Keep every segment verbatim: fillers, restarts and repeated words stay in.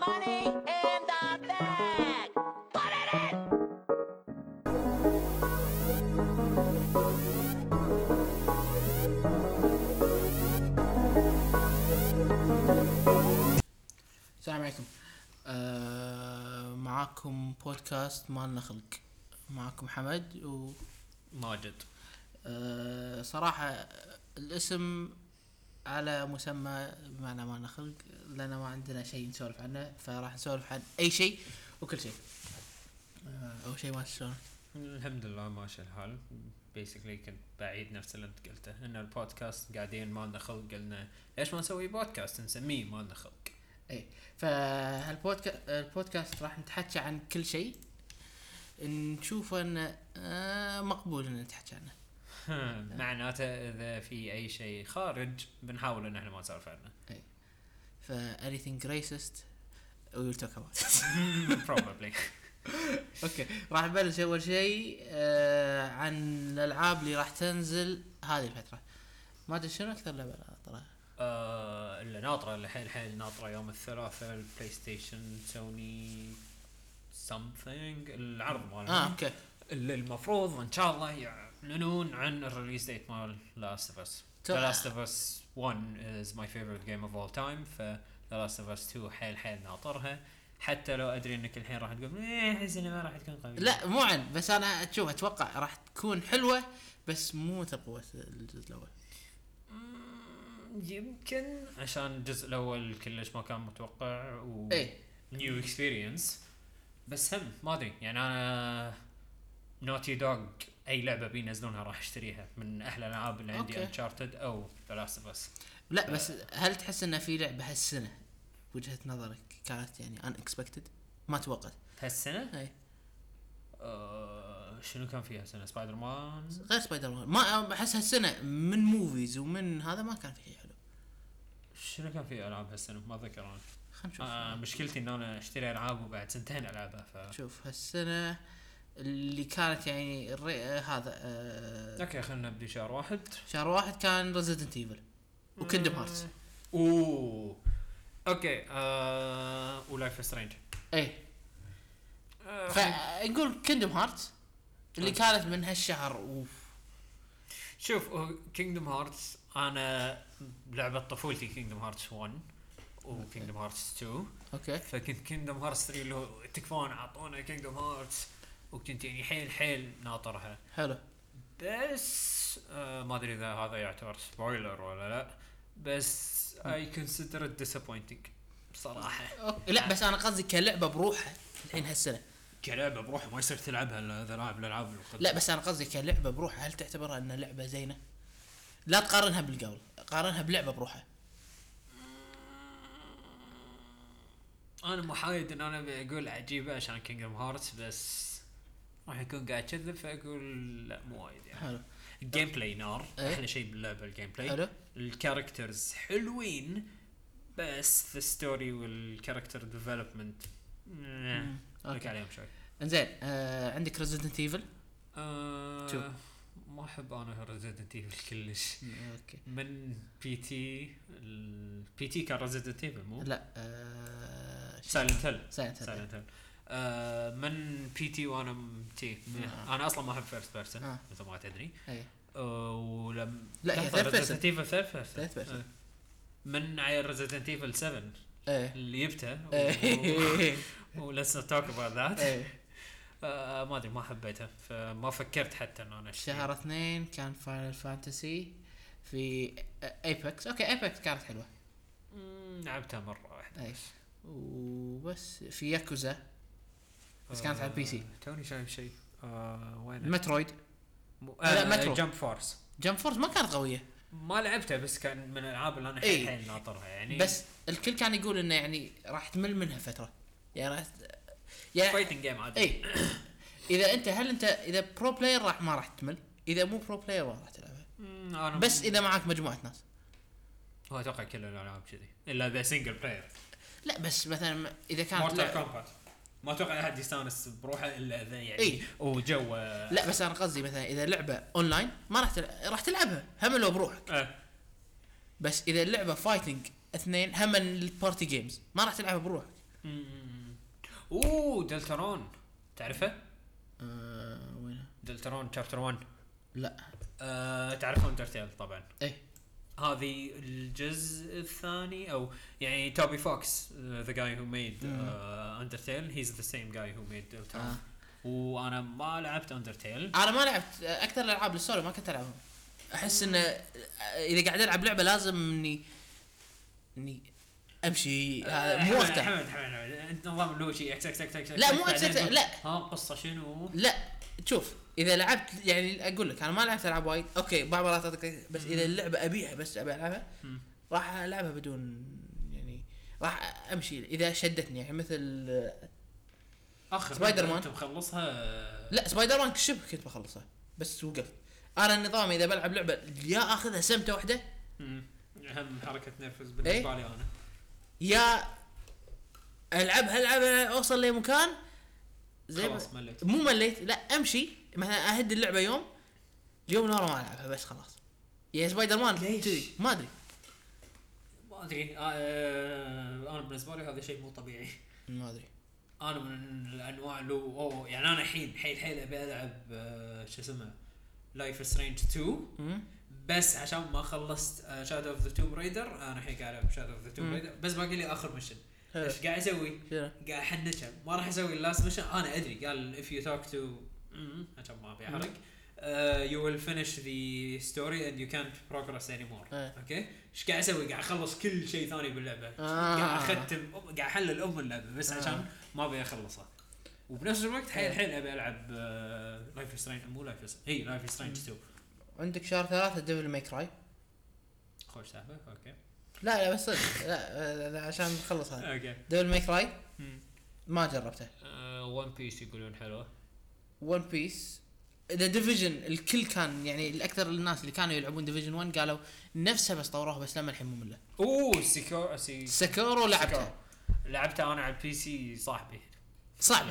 money in the bag. Put it in. السلام عليكم. آه معاكم بودكاست مالنا خلق. معاكم حمد و ماجد. آه صراحة الاسم على مسمى بمعنى مالنا خلق، لأن ما عندنا شيء نسولف عنه، فراح نسولف عن أي شيء وكل شيء. آه أول شيء ما شلون؟ الحمد لله ماشي الحال. بيسكلي كنت بعيد نفس اللي انت قلته، ان البودكاست قاعدين مالنا خلق، قلنا ليش ما نسوي بودكاست نسميه مالنا خلق. اي فهالبودكاست البودكاست راح نتحكي عن كل شيء نشوف انه آه مقبول ان نتحكي عنه. معناته اذا في اي شيء خارج بنحاول ان احنا ما نسولف عنه. اي ف anything racist we will talk about. probably. اوكي راح نبلش اول شيء آه عن الالعاب اللي راح تنزل هذه الفتره. ما ادري شنو اكثر لعبه ناطره. آه اللي ناطره اللي حيل حيل ناطره يوم الثلاثاء البلاي ستيشن سوني something العرض مالهم. اه اوكي اللي المفروض ان شاء الله يعلنون عن الريليز ديت مال Last of Us. The Last of Us one is my favorite game of all time. ف The Last of Us two حيل حيل ناطرها، حتى لو ادري انك الحين راح تقول ايه احس انها ما راح تكون قويه. لا مو عن بس انا اشوف اتوقع راح تكون حلوه بس مو تقوى الجزء الاول. يمكن عشان الجزء الاول كلش ما كان متوقع و ايه نيو اكسبيرينس، بس هم ما ادري يعني انا نوتي دوغ اي لعبه بينزلونها راح اشتريها من احلى الالعاب اللي عندي انشارتد او ذا لاست اوف اس. لا بس هل تحس ان في لعبه هالسنه وجهه نظرك كانت يعني unexpected ما توقعت هالسنه؟ اي أه شنو كان فيها سنه؟ سبايدر مان غير سبايدر مان ما احس هالسنه من موفيز ومن هذا ما كان فيه حلو. شنو كان فيه العاب هالسنه ما ذكر انا. خلينا نشوف. آه مشكلتي ان انا اشتري العاب وبعد سنتين العبها. ف شوف هالسنه اللي كانت يعني الري... آه هذا آه اوكي خلينا نبدي شهر واحد. شهر واحد كان ريزيدنت ايفل وكيندم هارتس. اوه اوكي آه ولايف سترينج. اي آه فنقول كيندم هارتس اللي كانت من هالشهر. اوف شوف كينجدم هارتس انا لعبه طفولتي كينجدم هارتس one وكينجدم هارتس two. اوكي فكنت كينجدم هارتس three اللي تكفون اعطونا كينجدم هارتس وكنت يعني حيل حيل ناطرها. حلو بس آه ما ادري اذا هذا يعتبر سبويلر ولا لا، بس I consider it disappointing بصراحه. أوكي. لا بس انا قصدي كلعبه بروحها الحين هالسنه كلعبه بروحها ما يصير تلعبها اذا لاعب الالعاب. لا بس انا قصدي كلعبه بروحها هل تعتبرها انها لعبه زينه؟ لا تقارنها بالقبل، قارنها بلعبه بروحها. انا محايد ان انا بقول عجيبه عشان كينجدم هارتس، بس راح يكون قاعد كذب فاقول لا مو وايد يعني. حلو. الجيم بلاي نار. ايه؟ احلى شيء باللعبه الجيم بلاي. حلو. الكاركترز حلوين بس الستوري والكاركتر ديفلوبمنت لك عليهم شوي. انزين آه عندك ريزيدنت ايفل. آه شوف ما احب انا ريزيدنت ايفل كلش. اوكي من بي تي البي تي كان ريزيدنت ايفل مو لا آه سايلنت هيل. سايلنت سايلنت هيل آه من بي تي وانا تي آه. انا اصلا ما احب فيرست بيرسون آه. مثل ما تدري. اي آه ولم لا هي ثيرد بيرسون. ريزيدنت ايفل ثيرد بيرسون. ثيرد بيرسون من عيل ريزيدنت ايفل سفن ايه اللي جبته ايه وليتس نوت توك اباوت ذات. ايه آه ما ادري ما حبيتها فما فكرت حتى ان انا اشتري. شهر اثنين كان فاينل فانتسي في ايبكس. اوكي ايبكس كانت حلوه لعبتها مره واحده. اي وبس في ياكوزا بس كانت على البي سي. توني شايف شيء آه وين مترويد. م... آه لا آه مترو جمب فورس. جمب فورس ما كانت قوية. ما لعبتها بس كان من الالعاب اللي انا إيه. حيل ناطرها يعني. بس الكل كان يقول انه يعني راح تمل منها فتره يعني راح يعني فايتنج جيم عادي. اي اذا انت هل انت اذا برو بلاير راح ما راح تمل، اذا مو برو بلاير ما راح تلعبها. بس اذا معك مجموعه ناس هو اتوقع كل الالعاب كذي الا ذا سنجل بلاير. لا بس مثلا اذا كانت مورتال كومبات ما اتوقع احد يستانس بروحه الا ذا يعني. إيه؟ وجو لا بس انا قصدي مثلا اذا لعبه اونلاين ما راح تلع... راح تلعبها هم لو بروحك. أه. بس اذا اللعبه فايتنج اثنين هم البارتي جيمز ما راح تلعبها بروحك. مم. اوه دلترون تعرفه؟ آه وين؟ دلترون شابتر واحد. لا. أه تعرف اندرتيل طبعا. ايه هذه الجزء الثاني او يعني توبي فوكس ذا جاي هو ميد اندرتيل هيز ذا سيم جاي هو ميد دلترون. آه. وانا ما لعبت اندرتيل. انا ما لعبت اكثر الالعاب الستوري ما كنت العبهم. احس ان اذا قاعد العب لعبه لازم اني اني امشي هذا مو وقته. حمد حمد حمد انت نظام اللي هو شيء اكس اكس اكس اكس لا مو اكس اكس لا ها قصه شنو؟ لا شوف اذا لعبت يعني اقول لك انا ما لعبت العاب وايد اوكي بعض المرات أعطيك- بس اذا اللعبه ابيعها بس ابي العبها مم. راح العبها بدون يعني راح امشي اذا شدتني يعني مثل اخر سبايدر مان. انت مخلصها؟ لا سبايدر مان شبه كنت بخلصها بس وقفت. انا النظام اذا بلعب لعبه يا اخذها سمته واحده امم اهم حركه نرفز بالنسبه لي انا. يا العبها العبها اوصل لمكان زي خلاص مليت. مو مليت لا امشي مثلا اهد اللعبه يوم اليوم اللي ورا ما العبها بس خلاص. يا سبايدر مان ليش؟ تدري ما ادري ما ادري آه انا بالنسبه لي هذا شيء مو طبيعي. ما ادري انا من الانواع اللي اوه يعني انا الحين حيل حيل ابي العب آه شو اسمه لايف سترينج تو مم. بس عشان ما خلصت شادو اوف ذا توم رايدر. انا الحين قاعد العب شادو اوف ذا توم مم. رايدر بس باقي لي اخر ميشن. حلو. ايش قاعد اسوي؟ شنو؟ قاعد احنشها ما راح اسوي اللاست ميشن. انا ادري قال if you talk to عشان ما ابي احرق uh, you will finish the story and you can't progress anymore. إيه. اوكي ايش قاعد اسوي؟ قاعد اخلص كل شيء ثاني باللعبه. آه. قاعد اختم قاعد احلل ام اللعبه بس آه. عشان ما ابي اخلصها. وبنفس الوقت حيل حيل ابي العب لايف سترينج مو لايف هي لايف سترينج تو. عندك شهر ثلاثة ديفل ماي كراي. خوش سالفه. اوكي لا لا بس صدق لا, لا عشان نخلص هذا اوكي ديفل ماي كراي ما جربته. ون بيس يقولون حلوه. ون بيس ذا ديفيجن الكل كان يعني الاكثر الناس اللي كانوا يلعبون ديفيجن واحد قالوا نفسها بس طوروها بس لما الحين ممله. اوه سيكور سي سكورو لعبتها لعبتها انا على البي سي صاحبي. صعبه.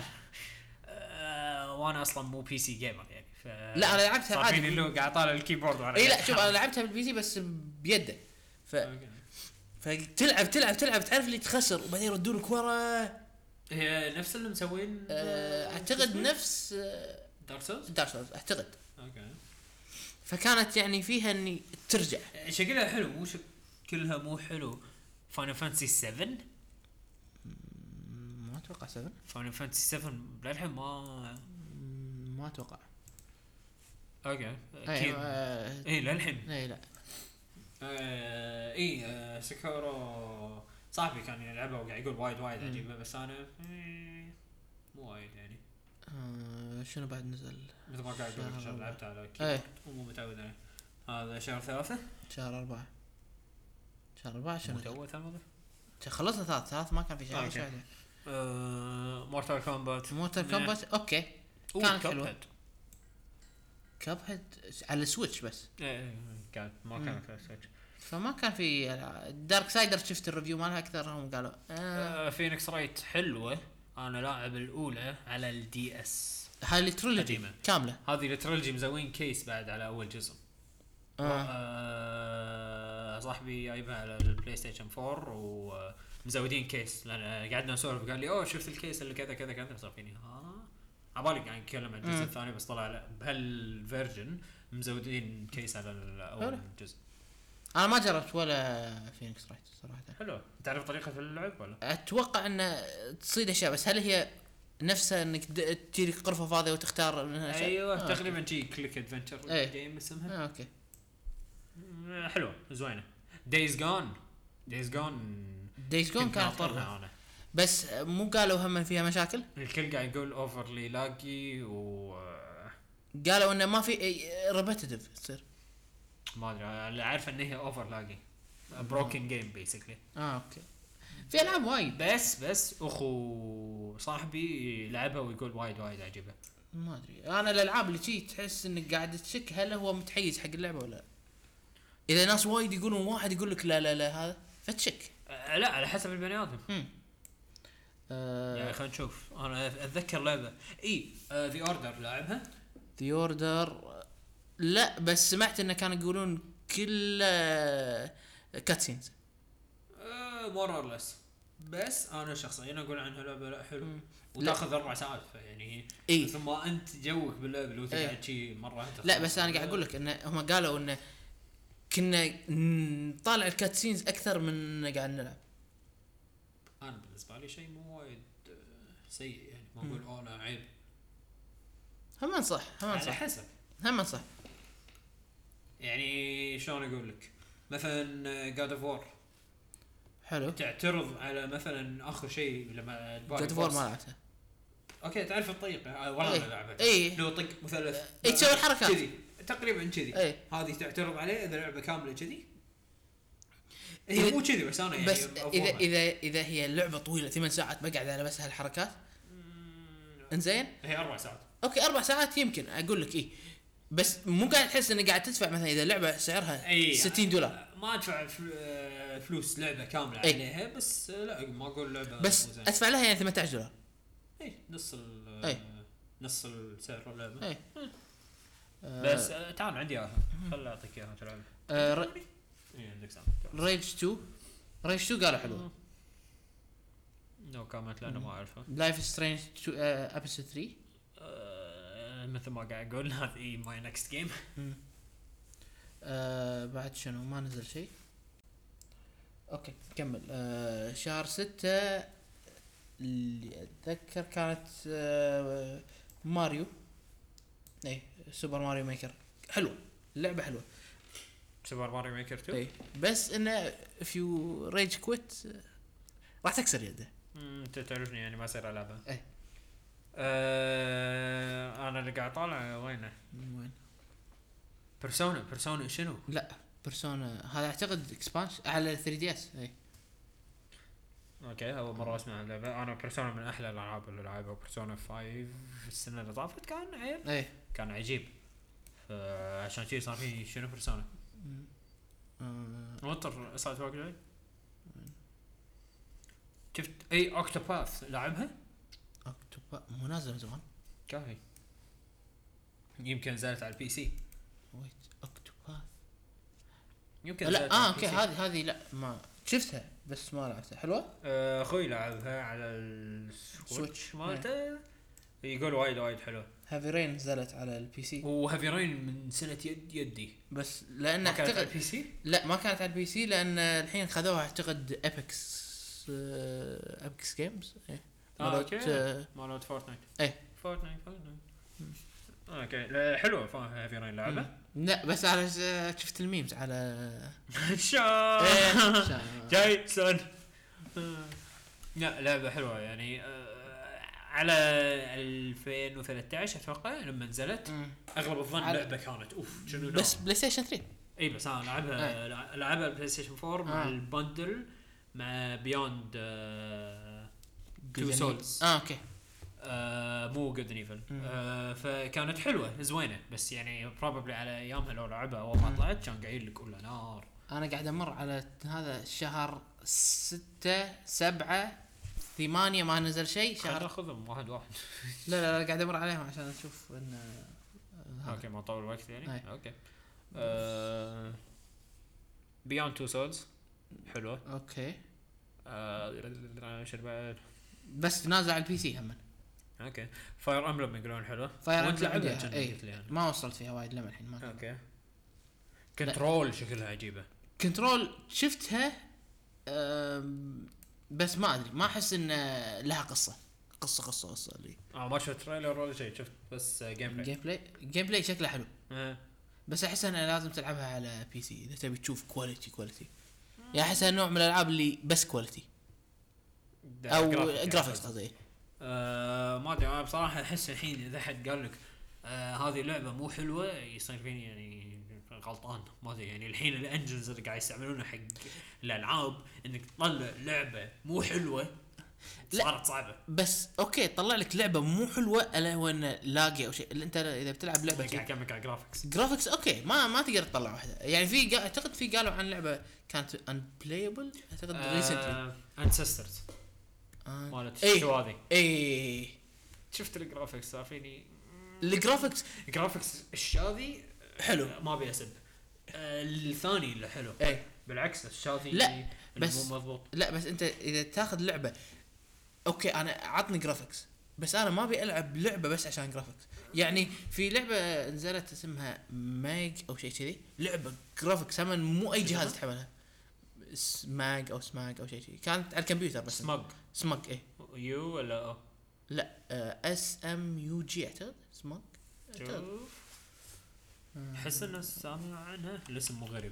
أه وانا اصلا مو بي سي جيمر يعني ف لا انا لعبتها عادي. صافيني اللي قاعد طالع الكيبورد وانا اي لا شوف انا لعبتها بالبي سي بس بيده ف فتلعب تلعب تلعب تعرف اللي تخسر وبعدين يردونك ورا. هي نفس اللي مسوين أه اعتقد نفس دارك سولز. دارك سولز اعتقد. اوكي فكانت يعني فيها اني ترجع شكلها حلو مو شكلها مو حلو. فاينل فانتسي سبعة ما اتوقع سبعة. فاينل فانتسي سبعة للحين ما ما اتوقع. اوكي اكيد اي اي للحين اي لا آه اي آه سكورو صاحبي كان يلعبها وقاعد يقول وايد وايد عجيبه بس انا إيه مو وايد يعني. آه شنو بعد نزل مثل ما قاعد اقول عشان لعبتها على ايه كيبورد ومو متعود عليه. هذا شهر ثلاثة شهر أربعة شهر أربعة شنو متعود ثلاثة خلصنا ثلاث ثلاث ما كان في شيء. أوكي. آه مورتال كومبات موتر كومبات اوكي كانت حلوه. كاب هيد على السويتش بس ايه كانت ما كان في سويتش. فما كان في دارك سايدر. شفت الريفيو مالها اكثر هم قالوا آه. آه فينيكس رايت حلوه. انا لاعب الاولى على الدي اس. هاي التريلوجي قديمة. كامله. هذه التريلوجي مزوين كيس بعد على اول جزء. آه. آه صاحبي جايبها على البلاي ستيشن فور ومزودين كيس لان قعدنا نسولف قال لي اوه شفت الكيس اللي كذا كذا كذا صار فيني ها عبالي قاعد نتكلم عن الجزء الثاني بس طلع بهالفيرجن مزودين كيس على اول جزء. انا ما جربت ولا فينيكس رايت صراحه. حلو. تعرف طريقه اللعب ولا؟ اتوقع ان تصيد اشياء بس هل هي نفسها انك تجيك غرفه فاضيه وتختار منها اشياء؟ ايوه آه تقريبا جي كليك ادفنتشر جيم اسمها. آه اوكي حلوه زوينه. دايز جون دايز جون دايز جون كانت طرها انا بس مو قالوا هم فيها مشاكل. الكل قاعد يقول اوفرلي لاجي و قالوا انه ما في ريبيتيتيف تصير. ما ادري اللي عارف ان هي اوفر لاجي بروكن جيم بيسكلي. اه اوكي في العاب وايد بس بس اخو صاحبي لعبها ويقول وايد وايد عجيبه. ما ادري انا الالعاب اللي شي تحس انك قاعد تشك هل هو متحيز حق اللعبه ولا لا. اذا ناس وايد يقولون واحد يقول لك لا لا لا هذا فتشك. أه لا على حسب البني ادم. آه يعني خلينا نشوف. انا اتذكر لعبه اي ذا اوردر لاعبها. ذا اوردر لا بس سمعت انه كانوا يقولون كل كاتسينز. مور اور ليس بس انا شخصيا اقول عنها لعبه لا حلو مم. وتاخذ اربع ساعات يعني اي مثل ما انت جوك باللعبه لو إيه. تقعد شي مره انت لا بس انا قاعد اقول لك ان هم قالوا ان كنا نطالع الكاتسينز اكثر من قاعد نلعب. انا بالنسبه لي شيء مو وايد آه، سيء يعني ما اقول اوه لا عيب هم صح هم على صح حسب هم صح. يعني شلون اقول لك مثلا جاد اوف وور حلو. تعترض على مثلا اخر شيء لما جود فور ما لعبتها. اوكي تعرف الطريقه والله إيه. ما لعبها إيه. لو طق مثلث إيه تسوي الحركات. كذي تقريبا كذي إيه. هذه تعترض عليه اذا لعبه كامله كذي هي إذا- مو كذي بس انا يعني بس اذا أفهمها. اذا اذا هي اللعبه طويله ثمان ساعات بقعد على بس هالحركات انزين. هي اربع ساعات اوكي اربع ساعات يمكن اقول لك ايه بس مو قاعد تحس انك قاعد تدفع مثلا اذا لعبه سعرها أي. ستين دولار ما ادفع فل- فلوس لعبه كامله أي. عليها بس لا ما اقول لعبه بس مو زينة. ادفع لها يعني ثمانية عشر دولار. اي نص ال أي. نص السعر اللعبه اي بس آه، تعال عندي اياها خل اعطيك اياها تلعب آه اي عندك سام ريج تو ريج تو قالوا حلوه. نو كومنت لانه ما اعرفه لايف سترينج ابيسود ثلاثة. آه، مثل ما قاعد اقول هذه ماي نكست جيم آه بعد شنو ما نزل شيء. اوكي كمل. آه شهر ستة اللي اتذكر كانت آه ماريو. اي سوبر ماريو ميكر حلوه اللعبه حلوه. سوبر ماريو ميكر تو اي بس انه if you rage quit راح تكسر يده. انت تعرفني يعني ما اصير العبها اي آه انا اللي قاعد طالع وينه وين؟ بيرسونا بيرسونا شنو لا بيرسونا هذا اعتقد اكسبانشن على ثري دي اس. اي اوكي اول مره اسمع اللعبه انا بيرسونا من احلى الالعاب اللي لعبها بيرسونا خمسة السنه اللي طافت كان عيب اي كان عجيب عشان كذي صار في شنو بيرسونا آه وتر صارت واقع جاي شفت اي اوكتوباث لعبها اكتوبا مو نازل من زمان. كافي يمكن نزلت على البي سي ويت اكتوبا يمكن لا نزلت اه على اوكي البي سي. هذه هذه لا ما شفتها بس ما لعبتها. حلوه. آه، اخوي لعبها على السويتش سويتش. مالته يقول وايد وايد حلو هافي رين نزلت على البي سي وهافي رين من سنه يد يدي بس لان ما كانت على اعتقد البي سي لا ما كانت على البي سي لان الحين خذوها اعتقد ابيكس ابيكس جيمز. ايه آه، مالت، أوكي. آه، مالت فورتنايت ايه فورتنايت فورتنايت اوكي لا، حلوه هافي رين لعبه لا بس على شفت الميمز على شا إيه، شا- جايسون لا لعبه حلوه يعني آه، على ألفين وثلاثة عشر اتوقع لما نزلت مم. اغلب الظن على- لعبه كانت اوف شنو بس بلاي ستيشن ثري. اي بس انا لعبها لع- لعبها البلاي ستيشن فور مع آه. البندل مع بيوند تو سولز اه اوكي آه مو جود نيفل آه فكانت حلوه زوينه بس يعني بروبلي على ايامها لو لعبها اول ما طلعت كان قايل لك ولا نار. انا قاعد امر على هذا الشهر ستة سبعة ثمانية ما نزل شيء خلنا شهر. ناخذهم واحد واحد لا لا, لا قاعد امر عليهم عشان اشوف ان آه، اوكي ما طول وقت يعني أي. اوكي آه بيوند تو سولز حلوه اوكي آه شو بعد بس نازل على البي سي هم. اوكي فاير امبلم يقولون حلوه فاير وانت امبلم لعبها عندي كان اي قلت لي أنا. ما وصلت فيها وايد لما الحين ما. اوكي كنترول شكلها عجيبه كنترول شفتها أم، بس ما ادري ما احس ان لها قصه قصه قصه قصه اللي اه ما شفت تريلر ولا شيء شفت بس جيم بلاي جيم بلاي جيم بلاي شكله حلو آه. بس احس انها لازم تلعبها على بي سي اذا تبي تشوف كواليتي كواليتي. يعني احسها نوع من الالعاب اللي بس كواليتي او جرافيكس قصدي. آه ما ادري انا بصراحه احس الحين اذا حد قال لك آه هذه اللعبه مو حلوه يصير فيني يعني غلطان ما ادري يعني الحين الانجنز اللي قاعد يستعملونها حق الالعاب انك تطلع لعبه مو حلوه صارت صعبه. بس اوكي طلع لك لعبه مو حلوه الا هو انه لاقي او شيء اللي انت اذا بتلعب لعبه قاعد اكمل على جرافيكس جرافيكس اوكي ما ما تقدر تطلع واحده. يعني في قا- اعتقد في قالوا عن لعبه كانت انبلايبل اعتقد ريسنتلي انسسترز آه. مالت إيه. شو هذه اي شفت الجرافيكس صار فيني الجرافيكس جرافيكس الشاذي حلو. ما ابي اسب آه الثاني اللي حلو اي بالعكس الشاطي لا، بس- مو مضبوط. لا بس انت اذا تاخذ لعبه اوكي انا عطني جرافيكس، بس انا ما ابي العب لعبه بس عشان جرافيكس. يعني في لعبه نزلت اسمها ماج او شيء كذي، لعبه جرافيكس هم مو اي جهاز تحملها، سماج او سماج او شيء كذي، كانت على الكمبيوتر بس. سمج سماج ايه يو ولا او؟ لا اس ام يو جي اعتقد سماج. شوف احس انه سامع عنها الاسم مو غريب.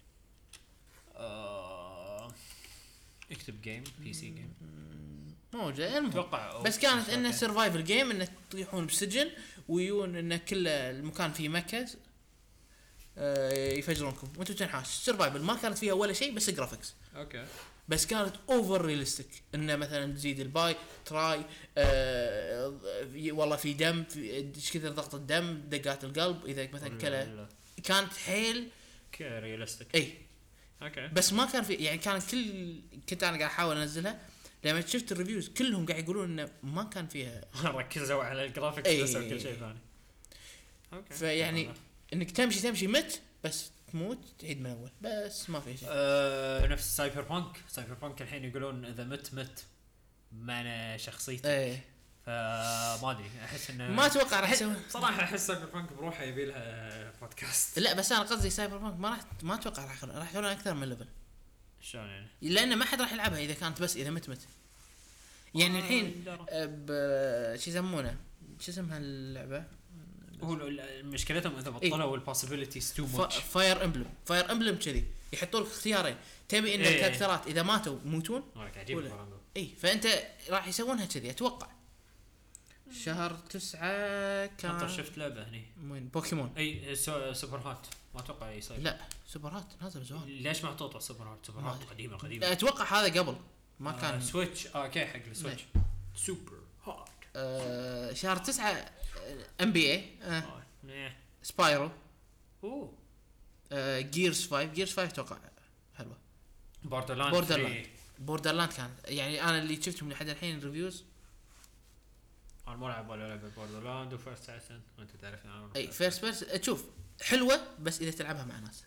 آه... اكتب جيم بي سي جيم موجه المهم. اتوقع. بس كانت انه سرفايفل جيم، انه تطيحون بسجن ويون انه كل المكان فيه مكز آه يفجرونكم وانتم تنحاش. سرفايفل ما كانت فيها ولا شيء بس جرافيكس، اوكي. بس كانت اوفر ريالستيك. انه مثلا تزيد الباي تراي آه والله في دم، في ايش كثر ضغط الدم، دقات القلب اذا مثلا كله، كانت حيل ريالستيك. اي. اوكي. بس ما كان في يعني، كان كل كنت انا قاعد احاول انزلها، لما شفت الريفيوز كلهم قاعد يقولون انه ما كان فيها ركزوا على الجرافيكس أي. بس وكل شيء ثاني. اوكي. فيعني انك تمشي تمشي مت بس تموت تعيد من اول، بس ما في شيء. أه نفس سايبر بانك. سايبر بانك الحين يقولون اذا مت مت معنى شخصيتي. ايه فما ادري احس انه ما اتوقع راح يسوي صراحه احس سايبر بانك بروحه يبي لها بودكاست. لا بس انا قصدي سايبر بانك ما راح ما اتوقع راح يخلون راح يخلون اكثر من ليفل، شلون يعني؟ لان ما حد راح يلعبها اذا كانت بس اذا مت مت. يعني الحين ب شو يسمونه شو اسمها اللعبه، هو مشكلتهم اذا بطلوا البوسيبيليتيز تو ماتش. فاير امبلم. فاير امبلم كذي يحطوا لك اختيارين، تبي ان إيه. الكاركترات اذا ماتوا يموتون مالك عجيب ولا- الكلام ده. اي، فانت راح يسوونها كذي اتوقع. شهر تسعة كان انت شفت لعبه هني وين بوكيمون؟ اي سو- سوبر هات ما اتوقع يصير. لا سوبر هات نازل زمان، ليش محطوط سوبر هات؟ سوبر ما هات أدري. قديمه قديمه. اتوقع هذا قبل ما آه كان. سويتش اه اوكي حق السويتش. سوبر هات. آه شهر تسعة ام بي اي آه. إيه. سبايرو اوه آه جيرز خمسة. جيرز خمسة اتوقع حلوه. بوردرلاند. بوردرلاند. بوردرلاند كان يعني انا اللي شفتهم لحد الحين ريفيوز. انا ما لعب ولا لعبه بوردرلاند وفيرست اساسن وانت تعرف انا. اي فيرست بيرس تشوف حلوه بس اذا تلعبها مع ناس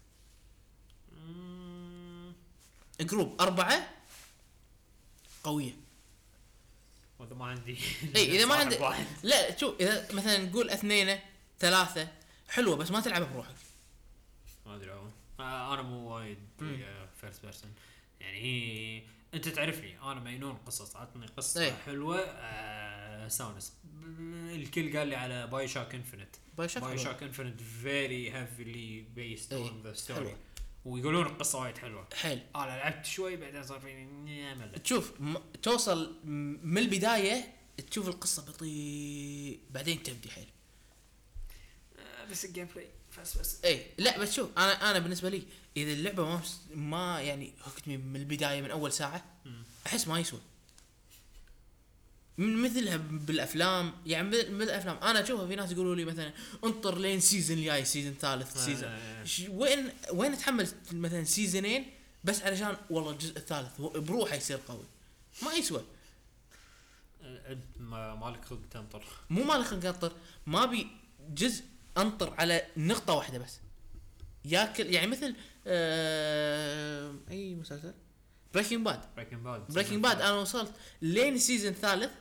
مم. جروب أربعة قويه. واذا ما عندي اي اذا ما صاحب عندك واحد. لا شوف اذا مثلا نقول اثنين ثلاثه حلوه بس ما تلعبها بروحك. ما ادري والله. آه انا مو وايد مم. فيرست بيرسون يعني. هي انت تعرفني انا مجنون قصص. عطني قصه إيه. حلوه آه ساونس. الكل قال لي على باي شوك انفنت. باي شوك باي حلوة. شوك انفنت فيري هيفلي بيست إيه. اون ذا ستوري حلوة. ويقولون القصه وايد حلوه. حيل انا لعبت شوي بعدين صار فيني ملل. تشوف م... توصل م- من البدايه تشوف القصه بطيء بعدين تبدي حيل. آه بس الجيم بلاي فاست بس. اي لا بس شوف انا انا بالنسبه لي اذا اللعبه ما ما يعني هكتني من البدايه من اول ساعه مم. احس ما يسوى. من مثلها بالافلام يعني مثل مثل الافلام انا اشوفها في ناس يقولوا لي مثلا انطر لين سيزون الجاي سيزون ثالث آه، سيزون آه، آه. ش- وين وين اتحمل مثلا سيزونين بس علشان والله الجزء الثالث هو بروحه يصير قوي ما يسوى. آه، انت ما مالك خلق تنطر. مو مالي خلق انطر ما بي جزء انطر على نقطه واحده بس ياكل يعني مثل آه اي مسلسل بريكنج باد. بريكنج باد. بريكنج باد انا وصلت لين السيزون الثالث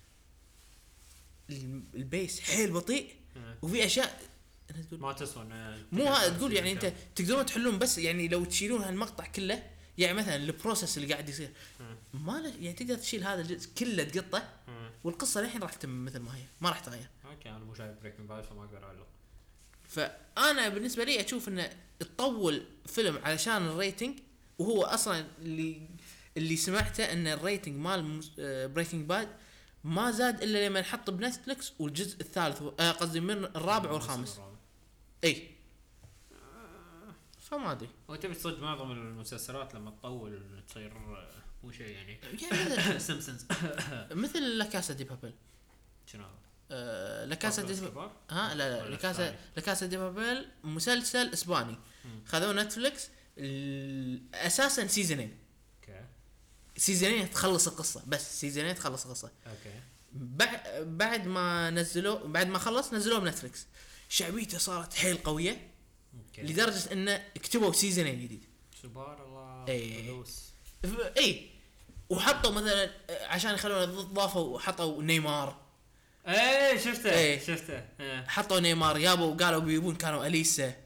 البيس حيل بطيء وفي اشياء أنا تقول ما تسوى انه مو هذا تقول يعني انت تقدرون تحلون بس يعني لو تشيلون هالمقطع كله يعني مثلا البروسيس اللي قاعد يصير ما له يعني تقدر تشيل هذا الجزء كله تقطه والقصه الحين راح تتم مثل ما هي ما راح تغير. اوكي انا مو شايف بريكنج باد فما اقدر اعلق. فانا بالنسبه لي اشوف انه تطول فيلم علشان الريتنج وهو اصلا اللي اللي سمعته ان الريتنج مال بريكنج باد ما زاد الا لما نحط بنتفلكس والجزء الثالث آه قصدي من الرابع والخامس. اي فما ادري وتبي تصدق معظم المسلسلات لما تطول تصير آه، مو شيء يعني. يعني مثل سيمبسونز. مثل لا كاسا دي بابل. شنو هذا؟ آه لا كاسا دي كبار؟ ها لا لا ولا لا كاسا ثاني؟ لا كاسا دي بابل مسلسل اسباني خذوه نتفلكس ال- اساسا سيزونين اوكي سيزونين تخلص القصه بس سيزونين تخلص القصه اوكي. بعد بعد ما نزلوه بعد ما خلص نزلوه بنتفلكس شعبيته صارت حيل قويه اوكي. لدرجه انه كتبوا سيزونين جديد. سبحان الله. إيه. فلوس. ف- اي وحطوا مثلا عشان يخلونه ضافوا حطوا نيمار، ايه شفته إيه. شفته إيه. حطوا نيمار يابوا قالوا بيبون كانوا اليسا.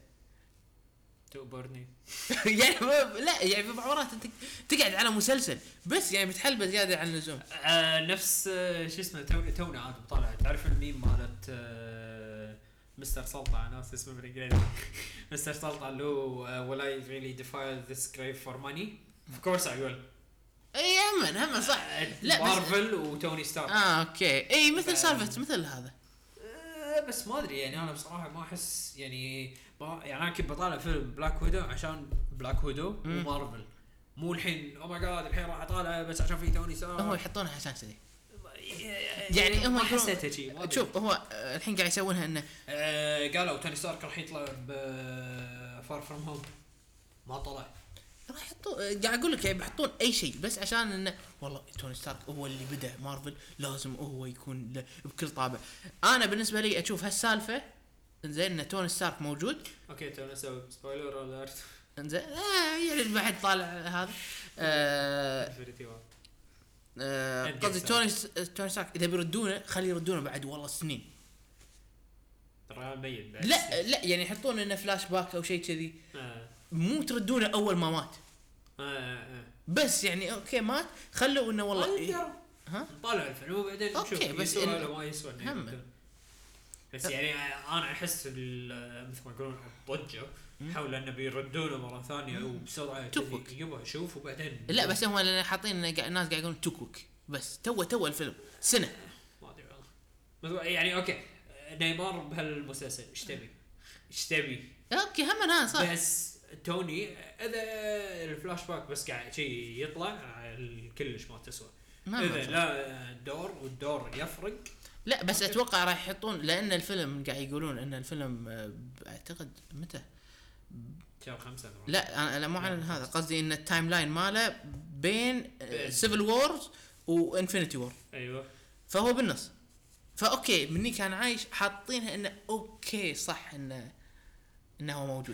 تؤبرني. يعني ما- لا يعني في بعض انت تقعد على مسلسل بس يعني بتحلبه زياده عن اللزوم. آه نفس آه شو اسمه تو تونا عاد طالع تعرف الميم مالت آه مستر سلطع ناس اسمه بالانجليزي مستر سلطع اللي هو uh, will I really defile this grave for money of course I will. اي هم هم صح. لا بس مارفل وتوني ستارك. اه اوكي اي مثل سالفه مثل هذا. آه بس ما ادري يعني انا بصراحه ما احس يعني ما يعني انا كنت بطالع فيلم بلاك ويدو عشان بلاك ويدو ومارفل مو الحين او ماي جاد الحين راح اطالع بس عشان في توني ستارك. هم يحطونها عشان كذي يعني هم ما يقولون- حسيتها شيء ما أدري. شوف هو آه، الحين قاعد يسوونها انه آه قالوا توني ستارك راح يطلع ب فار فروم هوم ما طلع. راح يحطون قاعد اقول لك يعني بيحطون اي شيء بس عشان انه والله توني ستارك هو اللي بدا مارفل لازم هو يكون له بكل طابع. انا بالنسبه لي اشوف هالسالفه انزين ان توني ستارك موجود اوكي تو نسوي سبويلر اليرت. انزين آه يعني بعد طالع هذا آه انفينيتي وار. آه، Endgame قصدي Star. توني توني ستارك اذا بيردونه خلي يردونه بعد والله سنين. ترى ميت بعد. لا لا يعني يحطون انه فلاش باك او شيء كذي آه. مو تردونه اول ما مات آه. آه. بس يعني اوكي مات خلوا انه والله إيه والله ها طالع الفيلم وبعدين أوكي، نشوف بس يسوى إن- ولا ما يسوى إنه هم. يردون. بس يعني انا احس ال- مثل ما يقولون الضجه حول انه بيردونه مره ثانيه وبسرعه تكوك. كذي يبغى اشوف وبعدين لا بس هم اللي حاطين إنه قاعد- الناس قاعد يقولون توكوك بس تو تو الفيلم سنه. ما ادري والله مثل- يعني اوكي نيمار بهالمسلسل ايش تبي؟ ايش تبي؟ اوكي هم انا صح بس توني اذا الفلاش باك بس قاعد شيء يطلع كلش ما تسوى. ما اذا صح. لا الدور والدور يفرق. لا بس اتوقع راح يحطون لان الفيلم قاعد يقولون ان الفيلم آه، اعتقد متى شهر خمسة لا انا لا مو عن هذا قصدي ان التايم لاين ماله بين بين. سيفل وورز وانفينيتي وور ايوه فهو بالنص. فاوكي مني كان عايش حاطينها انه اوكي صح انه انه هو موجود.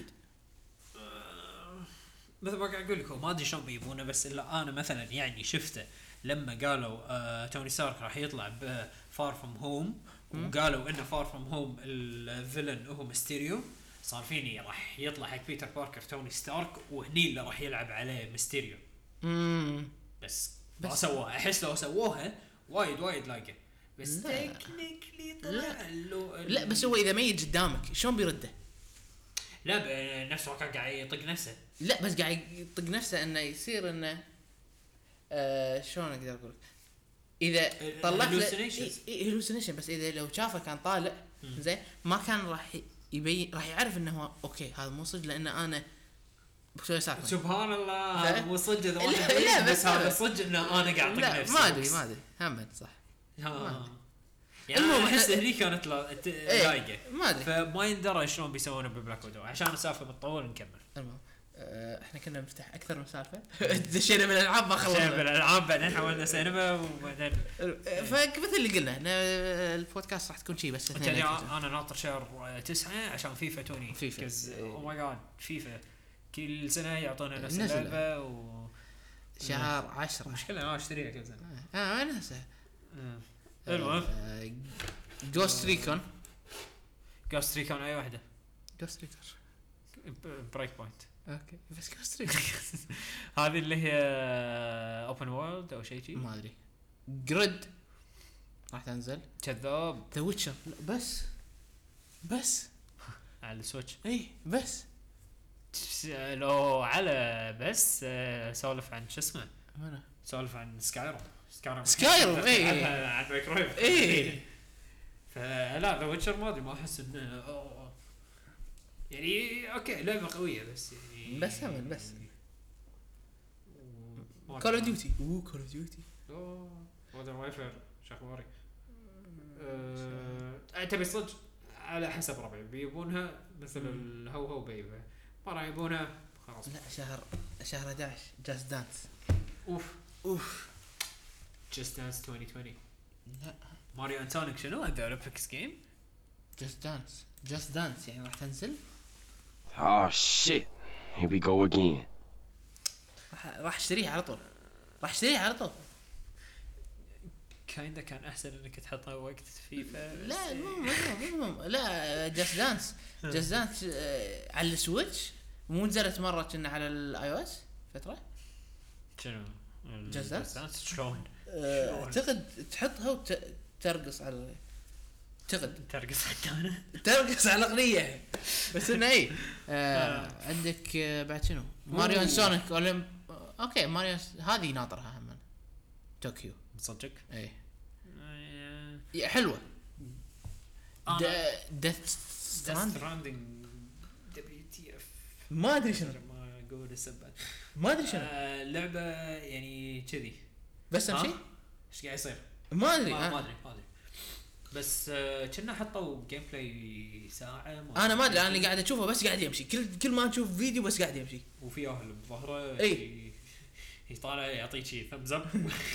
مثل ما قاعد اقول لكم ما ادري شلون بيجيبونه بس الا انا مثلا يعني شفته لما قالوا آه توني ستارك راح يطلع بفار فروم هوم وقالوا انه فار فروم هوم الفيلن هو ميستيريو صار فيني راح يطلع حق بيتر باركر توني ستارك وهني اللي راح يلعب عليه ميستيريو امم بس بس- ما سووها احس لو سووها وايد وايد لايقه بس لا. تكنيكلي لا. طلع له ال- لا بس هو اذا ميت قدامك شلون بيرده؟ لا ب- نفسه كان قاعد يطق نفسه. لا بس قاعد يطق نفسه انه يصير انه آه شلون اقدر اقول لك؟ اذا طلعت hallucinations. هلوسينيشن بس اذا لو شافه كان طالع زين ما كان راح يبين راح يعرف انه هو اوكي هذا مو صدق لان انا بسوي سالفه. سبحان الله ف- هذا مو صدق اذا لا- واحد لا، يبين، بس بس هذا هذا. صدق انه انا قاعد لا اطق نفسي ما ادري بس. ما ادري هم صح ها. يعني المهم انا احس إحنا- هني كانت لا- ت- إيه، لايقه ما ادري. فما يندرى شلون بيسوونه ببلاك ويدو عشان السالفه بتطول نكمل. المهم آه، احنا كنا نفتح اكثر من سالفه دشينا من الالعاب ما عشان خلصنا. بالالعاب بعدين حولنا سينما وبعدين فمثل اللي قلنا إن البودكاست راح تكون شيء بس اثنين تدري episode. انا ناطر شهر تسعة عشان فيفا توني فيفا. او ماي جاد فيفا كل سنه يعطونا نفس نزل. اللعبه و شهر عشرة مشكله ما اشتريها كل سنه. اه انا نفسه المهم جوست ريكون جوست ريكون اي واحده جوست ريكون بريك بوينت اوكي بس جوست ريكون هذه اللي هي اوبن وورلد او شيء شيء ما ادري جريد راح تنزل كذاب ذا ويتشر بس بس على السويتش. اي بس لو على بس آه، سولف عن شو اسمه انا سولف عن سكايرو سكايرو سكايرو، إيه. عن مايكرويف إيه. فلا ذا ويتشر ما ادري ما احس انه أوه. يعني اوكي لعبه قويه بس يعني بس هم بس ما كول اوف أدري. ديوتي اوه كول اوف ديوتي اوه مودرن وايفر شو اخباري؟ أه... تبي صدق على حسب ربعي بيبونها مثل الهو هو بيبها ما راح يبونها خلاص. لا شهر شهر احد عشر جاست دانس اوف اوف جست دانس ألفين وعشرين لا ماريو اند سونيك شنو ذا اولمبيكس جيم؟ جاست دانس جاست دانس يعني راح تنزل Oh shit. Here we go again. راح راح اشتريها على طول راح اشتريها على طول. كايندا كان احسن انك تحطها وقت فيفا. لا مو مو مو لا جاست دانس جاست دانس آه على السويتش مو نزلت مره كنا على الاي او اس فتره. شنو Just Dance؟ شلون آه، اعتقد تحطها وترقص على اعتقد ترقص حتى انا ترقص على الاغنيه بس انه اي آه عندك آه بعد شنو ماريو اند سونيك اولمب. اوكي ماريو هذه ناطرها هم طوكيو صدق. اي يا حلوه. ديث ستراندينج دبليو تي اف ما ادري شنو ما اقول السبب ما ادري شنو آه لعبه يعني كذي بس امشي ايش قاعد يصير ما ادري ما أنا, ادري ما ادري بس آه كنا حطوا جيم بلاي ساعه انا ما ادري انا اللي قاعد اشوفه بس قاعد يمشي كل كل ما نشوف فيديو بس قاعد يمشي وفي اهل بظهره اي يطالع يعطيك شيء ثمز اب.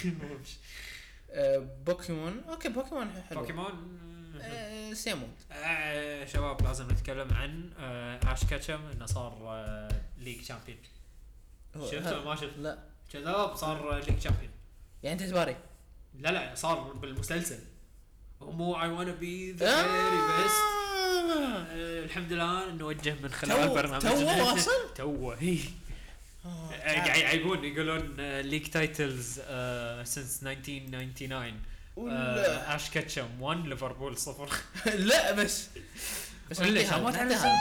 آه بوكيمون اوكي بوكيمون حلو بوكيمون آه سيمون. آه شباب لازم نتكلم عن آه اش كاتشم انه صار آه ليج شامبيون. شفته ما شفت؟ لا كذاب صار ليج شامبيون. يعني انت تباري لا لا صار بالمسلسل مو اي وانا بي ذا فيري بيست. الحمد لله نوجه من خلال برنامج تو وصل تو هي قاعد يعيبون يقولون ليج تايتلز سينس ألف وتسعمية وتسعة وتسعين اش كاتشم واحد ليفربول صفر. لا بس بس ليش ما تعرف؟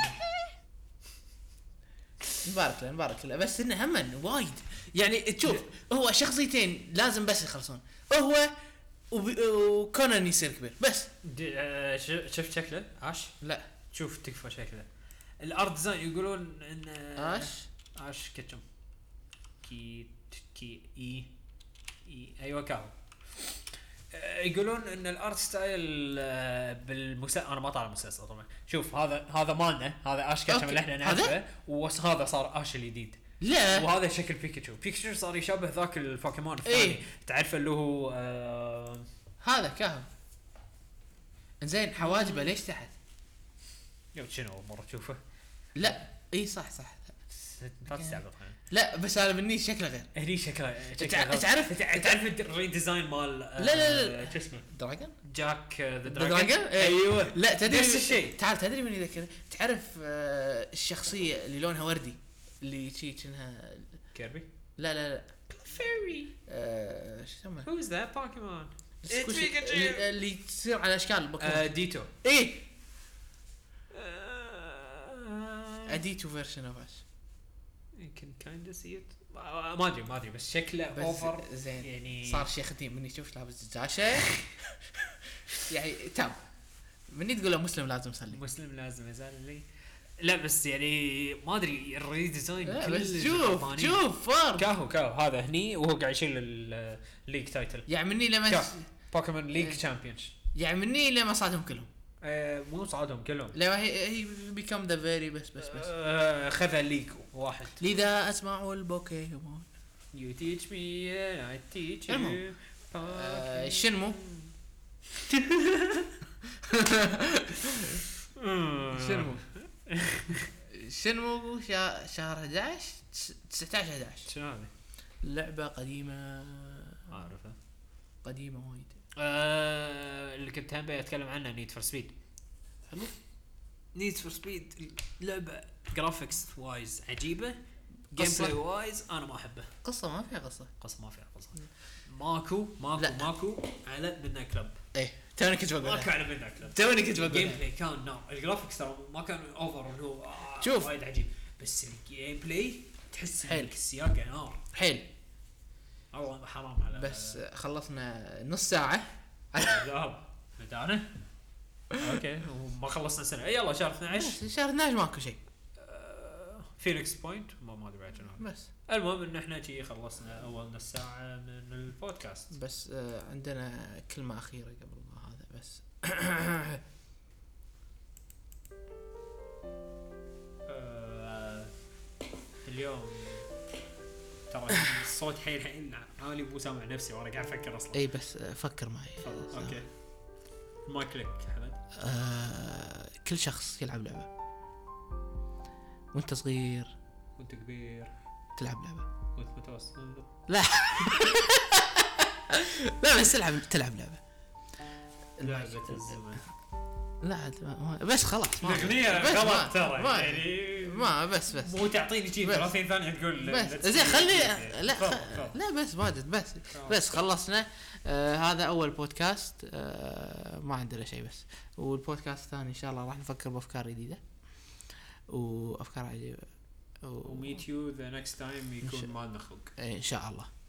مبارك له مبارك له بس انه هم وايد يعني تشوف هو شخصيتين لازم بس يخلصون هو وكونان يصير كبير بس. شفت شكله اش؟ لا شوف تكفى شكله الارت ديزاين يقولون ان اش اش كاتشم كي كي اي اي ايوه كاو يقولون ان الارت ستايل بالمسلسل انا ما طالع المسلسل طبعا. شوف هذا هذا مالنا هذا اش كاتشم اللي احنا نعرفه وهذا صار اش الجديد. لا وهذا شكل بيكاتشو بيكاتشو صار يشبه ذاك البوكيمون الثاني ايه؟ تعرفه اللي هو آه هذا كاهو زين حواجبه ليش تحت؟ يا شنو مره تشوفه؟ لا اي صح صح لا تستعبط. لا بس انا مني شكله غير هني شكله تعرف تعرف الريديزاين مال لا لا لا شو اسمه دراجون جاك ذا دراجون ايوه لا تدري نفس الشيء. تعال تدري من يذكر تعرف آه الشخصيه اللي لونها وردي اللي شي كأنها كيربي لا لا لا فيري آه شو اسمه هوز ذات بوكيمون اللي, اللي تصير على اشكال البوكيمون ديتو ايه اديتو فيرجن اوف اس يمكن كايند سي ات ما ادري ما ادري بس شكله اوفر زين يعني صار شيخ ختيم مني شوف لابس دجاشه يعني تام مني تقول له مسلم لازم يصلي مسلم لازم يزال لي لا بس يعني ما ادري الريديزاين بس شوف شوف فار كاهو كاهو هذا هني وهو قاعد يشيل الليج تايتل يعني مني لما بوكيمون ليج تشامبيونز يعني مني لما صادهم كلهم آه مو صعدهم كلهم لا هي هي بيكم ذا فيري بس بس بس آه خذ الليج واحد لذا اسمع البوكيمون يو تيتش مي اي تيتش يو شنمو شنمو شنمو شهر أحد عشر تسعة عشر أحد عشر شنو هذه لعبة قديمة اعرفها قديمة وايد آه اللي كنت هم اتكلم عنها نيد فور سبيد. حلو نيد فور سبيد لعبة جرافيكس وايز عجيبة جيم بلاي وايز انا ما احبه. قصة ما فيها قصة قصة ما فيها قصة ماكو ماكو لا. ماكو على ميدنايت كلب ايه توني كنت بقول ماكو على ميدنايت كلب توني كنت بقول الجيم بلاي كان نار الجرافيكس ترى ما كان اوفر اللي هو آه شوف. وايد عجيب بس الجيم بلاي تحس حيل. انك السياقة نار حيل والله حرام على بس خلصنا نص ساعة ذهب بدانا اوكي وما خلصنا سنة اي يلا شهر اثنا عشر شهر اثنا عشر ماكو شيء فينيكس بوينت ما ما ادري بعد شنو بس المهم ان احنا شي خلصنا اول نص ساعة من البودكاست بس آه عندنا كلمة أخيرة قبل ما هذا بس آه اليوم ترى الصوت حيل حيل عالي مو سامع نفسي وانا قاعد افكر اصلا. اي بس آه فكر معي اوكي ما كليك احمد. آه كل شخص يلعب لعبة وانت صغير وانت كبير تلعب لعبه متوسط لا لا بس تلعب تلعب لعبه لعبة الزمن لا ما- بس خلاص ما- الأغنية بس ما- غلط ترى ما- يعني ما بس بس مو تعطيني شيء بس. ثلاثين ثانية تقول بس let's زين do خلي it. لا تفضل، خ... تفضل. لا بس واجد بس بس خلصنا آه هذا اول بودكاست آه ما عندنا شيء بس والبودكاست الثاني ان شاء الله راح نفكر بافكار جديده وافكار عجيبه و... و meet you the next time يكون ما نخلق ان شاء الله